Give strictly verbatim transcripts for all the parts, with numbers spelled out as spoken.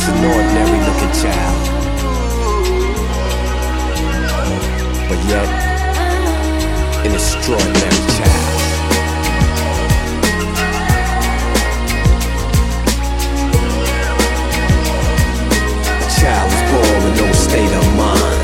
just an ordinary looking child, but yet an extraordinary child. A child was born with no state of mind.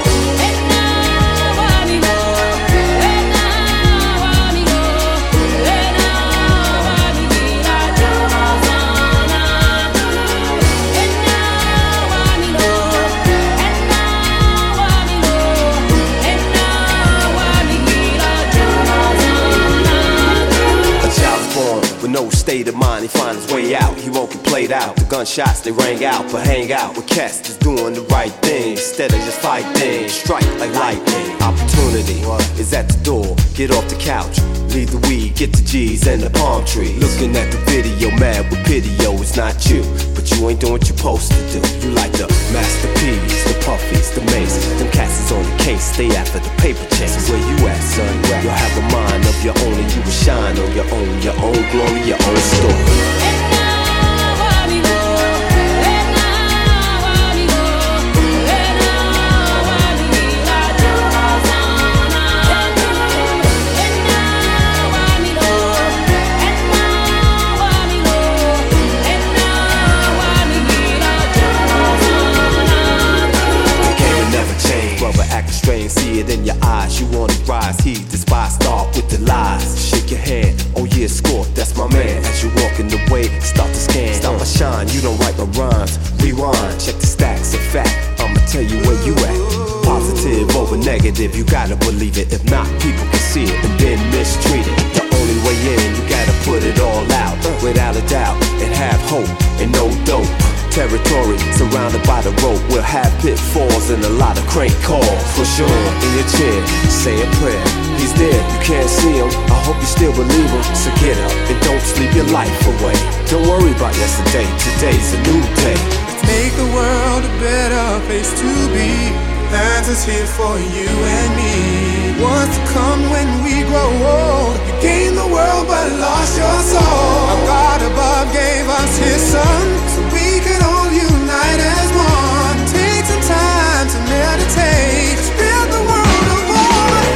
With no state of mind, he find his way out. He won't get played out. The gunshots, they rang out. But hang out with cats that's doing the right thing instead of just fighting. Strike like lightning. Opportunity is at the door. Get off the couch. Leave the weed, get the G's and the palm tree. Looking at the video, mad with pity, yo, it's not you. But you ain't doing what you're supposed to do. You like the masterpiece, the puffies, the mace. Them cats is on the case, stay after the paper chase. Where you at, son? You'll have a mind of your own and you will shine on your own. Your own glory, your own story. Strange, see it in your eyes. You wanna rise, he despise. Start with the lies. Shake your head, oh yeah, score, that's my man. As you walking the way, start to scan. Start my shine, you don't write my rhymes. Rewind, check the stacks of fact. I'ma tell you where you at. Positive over negative, you gotta believe it. If not, people can see it and then mistreat it. The only way in, you gotta put it all out. Without a doubt, and have hope and no dope. Territory surrounded by the rope. We'll have pitfalls and a lot of crank calls. For sure, in your chair, say a prayer. He's there, you can't see him. I hope you still believe him. So get up and don't sleep your life away. Don't worry about yesterday, today's a new day. Let's make the world a better place to be. The answer's here for you and me. What's to come when we grow old? You gained the world but lost your soul. Our God above gave us his son, so we can all unite as one. Take some time to meditate. Let's build the world of one.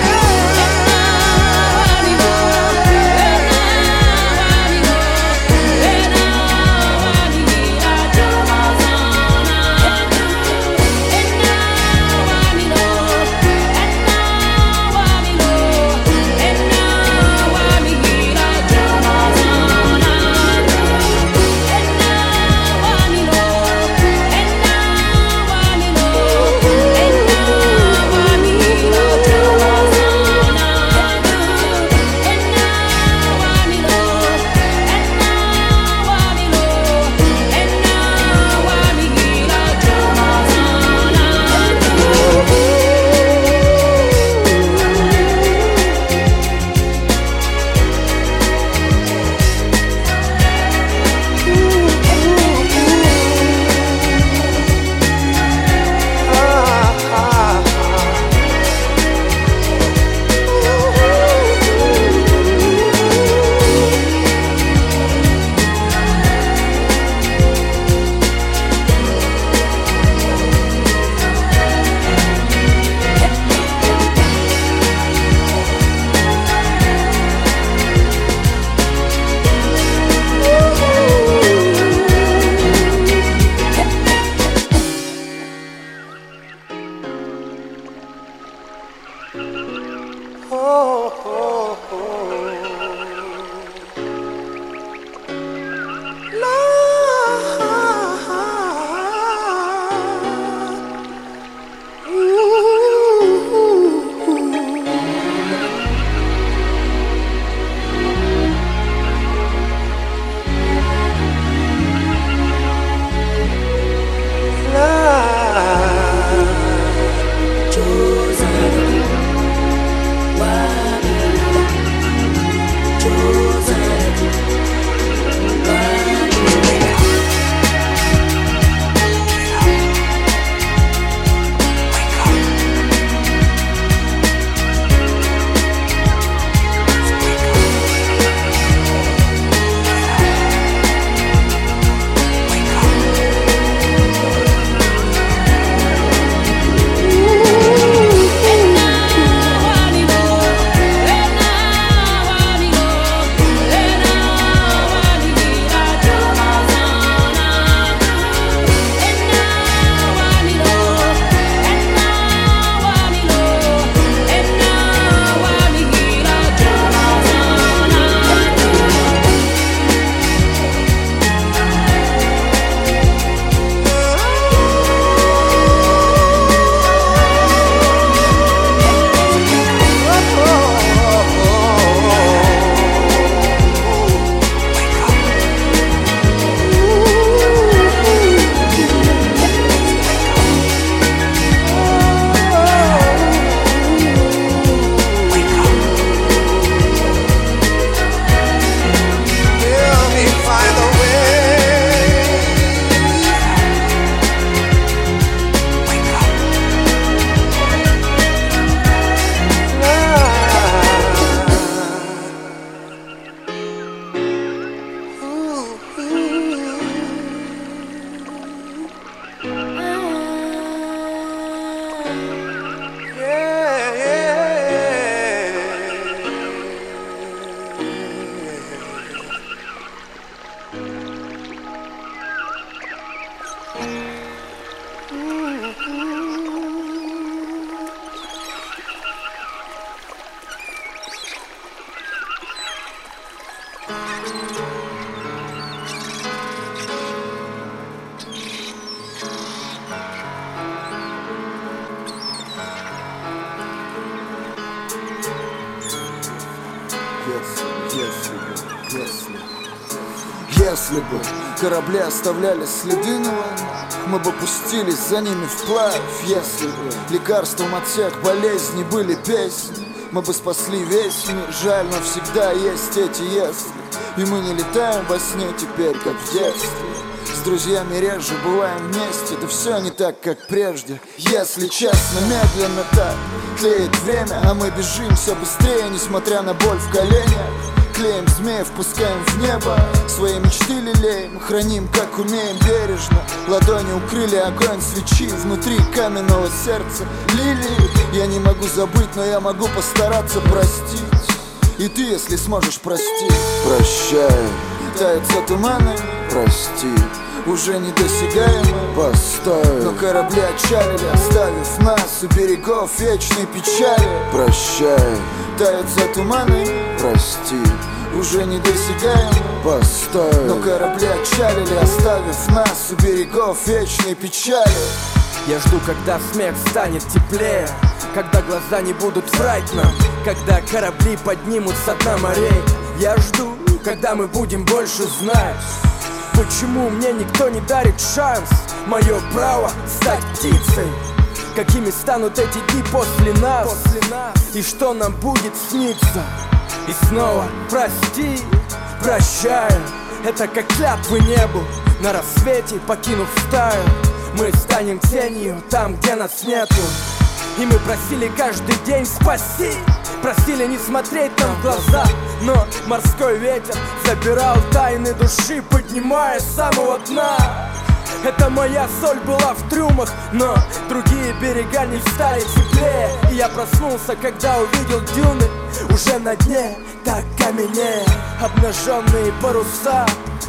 если бы корабли оставляли следы на волнах, мы бы пустились за ними вплавь. Если бы лекарством от всех болезней были песни, мы бы спасли весь мир. Жаль, но всегда есть эти если. И мы не летаем во сне теперь, как в детстве. С друзьями реже бываем вместе, да все не так, как прежде. Если честно, медленно так тлеет время, а мы бежим все быстрее, несмотря на боль в коленях. Клеим змеев, пускаем в небо, свои мечты лелеем, храним, как умеем, бережно. Ладони укрыли огонь свечи, внутри каменного сердца лилии. Я не могу забыть, но я могу постараться простить. И ты, если сможешь, прости. Прощай, тают за туманы, прости, уже недосягаемы, постой. Но корабли отчалили, оставив нас у берегов вечной печали. Прощай, тают за туманы, прости, уже недосягаемы, постой. Но корабли отчалили, оставив нас у берегов вечной печали. Я жду, когда смех станет теплее, когда глаза не будут врать нам, когда корабли поднимутся дна морей. Я жду, когда мы будем больше знать, почему мне никто не дарит шанс. Мое право стать птицей. Какими станут эти дни после нас, после нас? И что нам будет сниться? И снова прости, прощаю. Это как клятвы небу на рассвете, покинув стаю. Мы станем тенью там, где нас нету. И мы просили каждый день спаси, просили не смотреть нам в глаза. Но морской ветер забирал тайны души, поднимая с самого дна. Это моя соль была в трюмах, но другие берега не стали теплее. И я проснулся, когда увидел дюны уже на дне, так каменнее. Обнаженные паруса.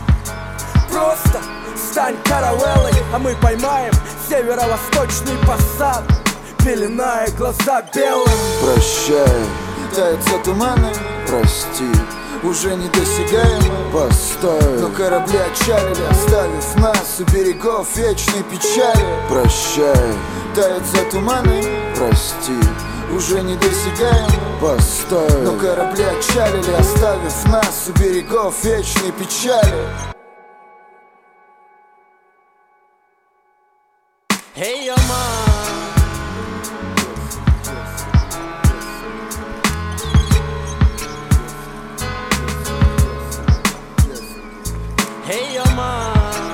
Просто стань каравеллой, а мы поймаем северо-восточный посад, пеленая глаза белым. Прощай, тают за туманы, прости, уже недосягаемы, постой. Но корабли отчалили, оставив нас у берегов вечной печали. Прощай, тают за туманы, прости, уже недосягаемы, постой. Но корабли отчалили, оставив нас у берегов вечной печали. Hey, yo, man. Hey, yo, man.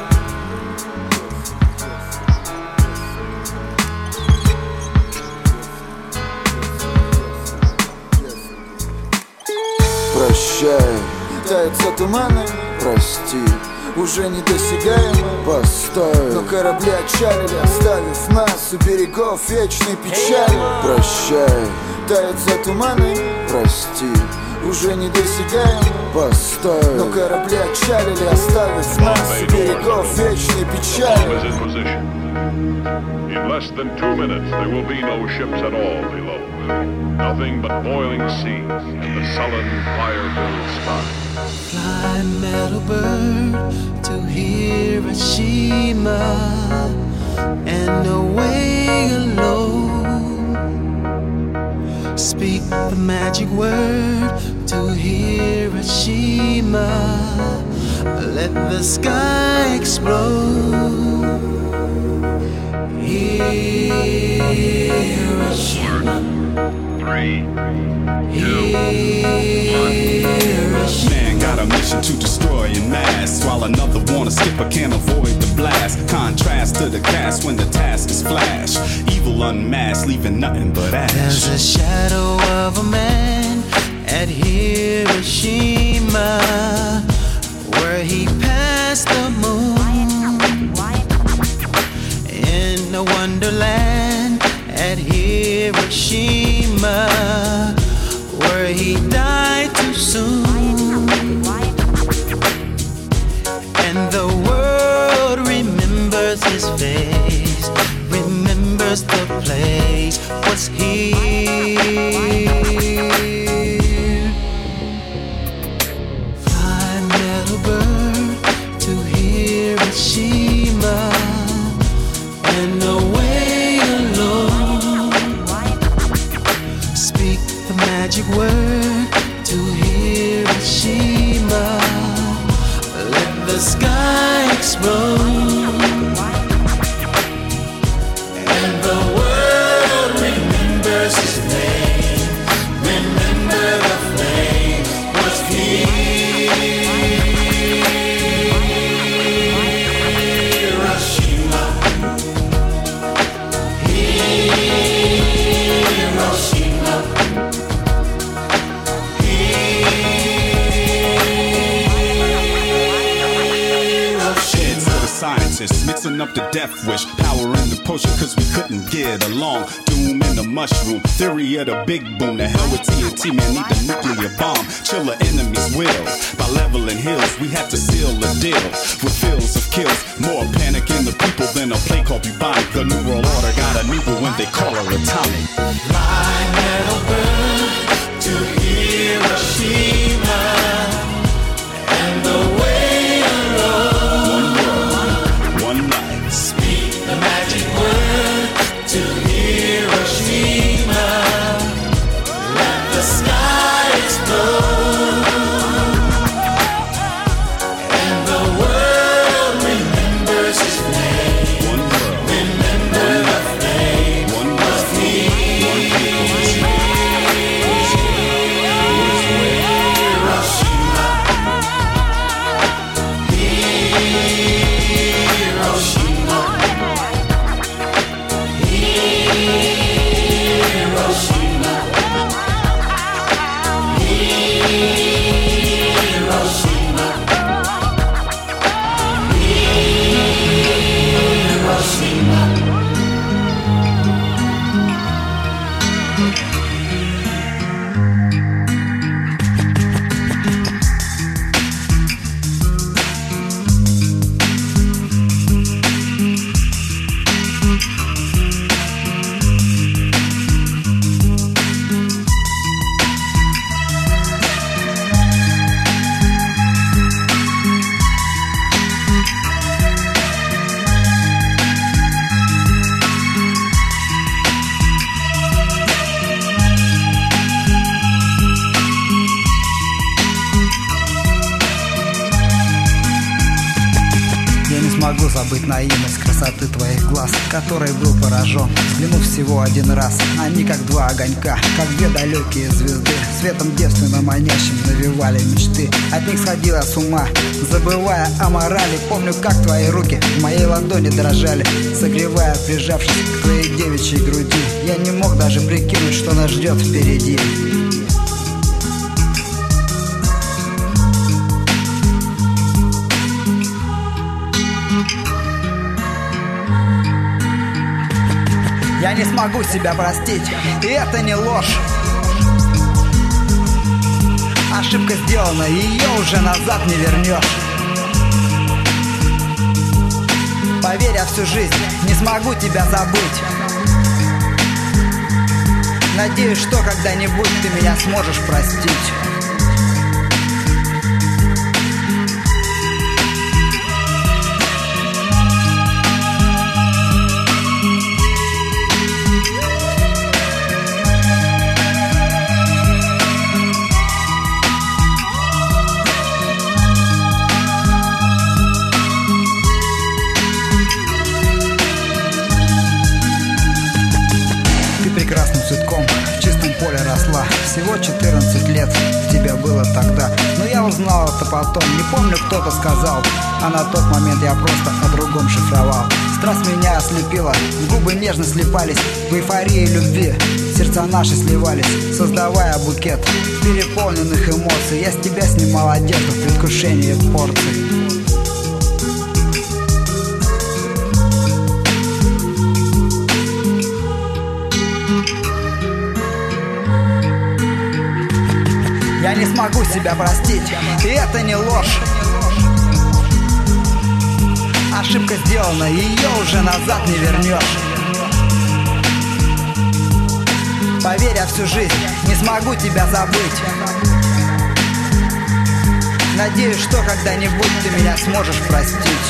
Прощай, тают за туманы, прости, уже недосягаемы, постой. Но корабли отчалили, оставив нас у берегов вечной печали. Прощай, тают за туманы, прости, уже недосягаемы, постой. Но корабли отчалили, оставив нас у берегов вечной печали. In less than two minutes, there will be no ships at all below. Nothing but boiling seas and the sullen, fire-filled sky. Fly, metal bird, to Hiroshima and away alone. Speak the magic word to Hiroshima. Let the sky explode. Hiroshima. Three, two, Hiroshima. Man got a mission to destroy en masse, while another wanna skip but can't avoid the blast. Contrast to the cast when the task is flash. Evil unmasked, leaving nothing but ash. There's a shadow of a man at Hiroshima, where he passed the moon. In a wonderland at Hiroshima, where he died too soon. And the world remembers his face, remembers the place was here. Fly, metal bird, to Hiroshima and away alone. Speak the magic word to Hiroshima. Let the sky explode, and the world remembers his name. Remember the flame was Hiroshima. Hiroshima. Scientists mixing up the death wish, power in the potion cause we couldn't get along. Doom in the mushroom, theory of the big boom. The hell with T N T, man, need the nuclear bomb. Chill the enemy's will, by leveling hills we had to seal the deal. With fields of kills, more panic in the people than a plague called bubonic. The new world order got a new one when they call her atomic. My metal burn to Hiroshima, and the way the magic word to Hiroshima. Let the sky explode, and the world remembers his name. One world. Remember the flame One of могу забыть наивность красоты твоих глаз, которой был поражен, взглянув всего один раз. Они как два огонька, как две далекие звезды, светом девственно манящим навевали мечты. От них сходила с ума, забывая о морали. Помню, как твои руки в моей ладони дрожали, согревая, прижавшись к твоей девичьей груди. Я не мог даже прикинуть, что нас ждет впереди. Я не смогу себя простить, и это не ложь. Ошибка сделана, ее уже назад не вернешь. Поверь, я всю жизнь не смогу тебя забыть. Надеюсь, что когда-нибудь ты меня сможешь простить. Прекрасным цветком в чистом поле росла. Всего четырнадцать лет тебе было тогда. Но я узнал это потом. Не помню, кто-то сказал, а на тот момент я просто о другом шифровал. Страсть меня ослепила, губы нежно слипались. В эйфории любви сердца наши сливались, создавая букет переполненных эмоций. Я с тебя снимал одежду в предвкушении порций. Я не смогу себя простить, и это не ложь. Ошибка сделана, ее уже назад не вернешь. Поверь, я всю жизнь не смогу тебя забыть. Надеюсь, что когда-нибудь ты меня сможешь простить.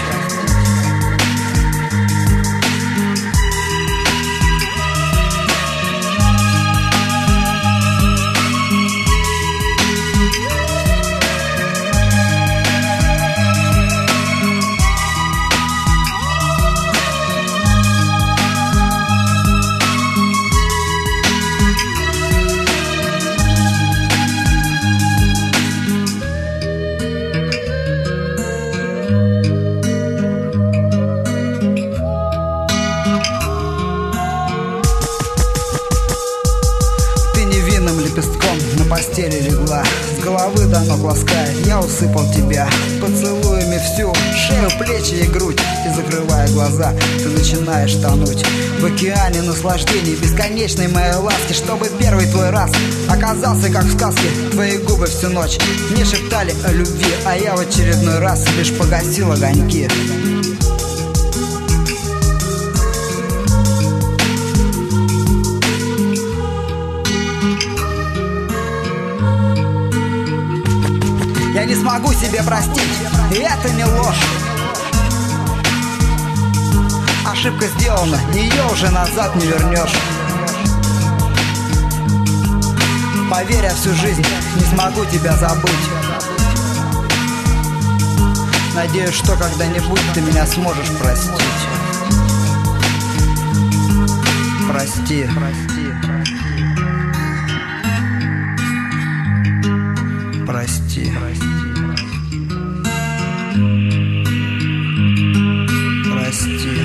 ног ласкает, я усыпал тебя поцелуями всю шею, плечи и грудь. И закрывая глаза, ты начинаешь тонуть в океане наслаждений бесконечной моей ласки, чтобы первый твой раз оказался как в сказке. Твои губы всю ночь не шептали о любви, а я в очередной раз лишь погасил огоньки. Я не смогу себе простить, и это не ложь. Ошибка сделана, ее уже назад не вернешь. Поверь, я всю жизнь не смогу тебя забыть. Надеюсь, что когда-нибудь ты меня сможешь простить. Прости. Прости. Прости. Прости.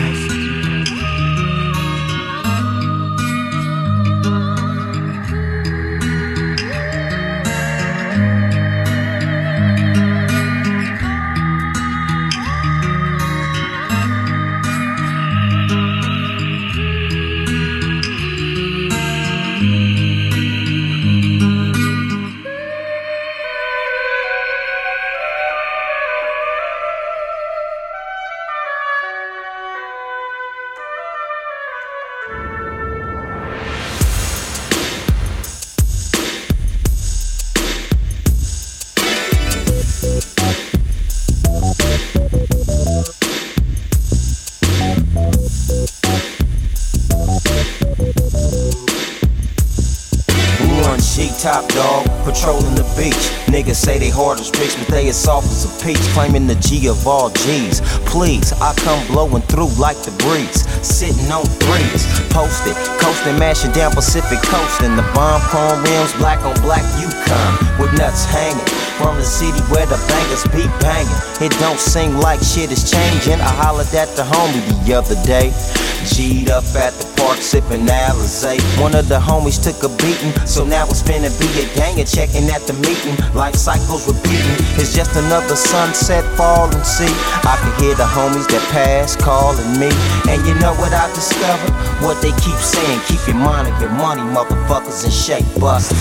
Top dog, patrolling the beach. Niggas say they hard as bricks, but they as soft as a peach. Claiming the G of all G's. Please, I come blowing through like the breeze. Sitting on threes, posted, coasting, mashing down Pacific Coast. And the bomb chrome rims, black on black Yukon, with nuts hanging. From the city where the bangers be banging. It don't seem like shit is changing. I hollered at the homie the other day. G'd up at the park sipping Alizé. One of the homies took a beating, so now it's finna be a gang and checking at the meeting. Life cycles repeating, it's just another sunset falling. See, I can hear the homies that pass calling me. And you know what I discovered? What they keep saying, keep your mind on your money, motherfuckers, and shake busters.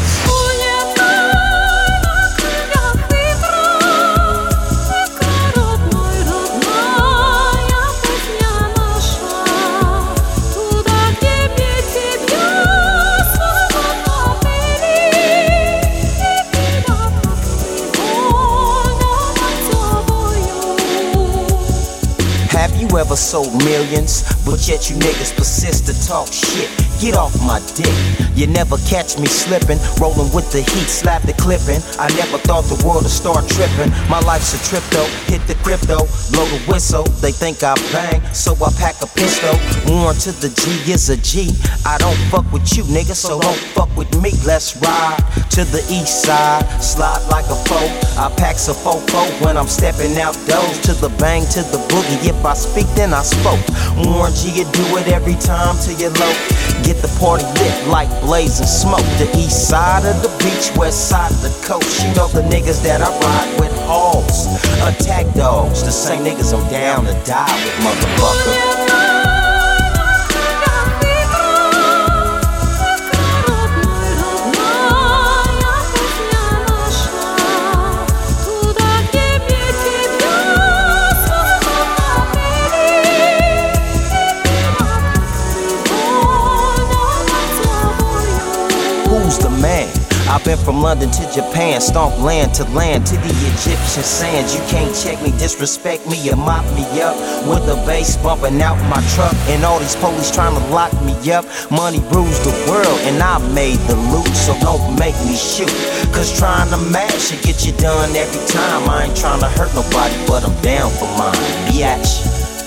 You ever sold millions, but yet you niggas persist to talk shit? Get off my dick. You never catch me slipping, rolling with the heat, slap the clipping. I never thought the world would start tripping. My life's a trip though, hit the crypto, blow the whistle. They think I bang, so I pack a pistol. Warn to the G is a G. I don't fuck with you, nigga, so don't fuck with me. Let's ride to the east side, slide like a foe. I pack a fofo when I'm stepping out doors. To the bang, to the boogie. If I speak, then I spoke. Warn G, you do it every time till you're low. Get the party lit like blazing smoke. The east side of the beach, west side of the coast. You know the niggas that I ride with, hogs, attack dogs. The same niggas I'm down to die with, motherfucker. I've been from London to Japan, stomp land to land to the Egyptian sands. You can't check me, disrespect me, or mop me up with the bass bumping out my truck. And all these police trying to lock me up. Money rules the world and I made the loot, so don't make me shoot. Cause trying to match it get you done every time. I ain't trying to hurt nobody, but I'm down for mine, biatch.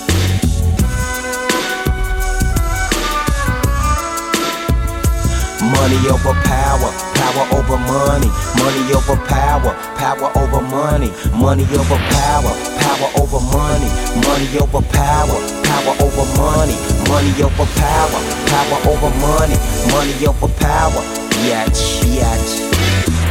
Money over power, power over money. Money over power, power over money. Money over power, power over money. Money over power, power over money. Money over power, power over money. Money over power, biatch, biatch.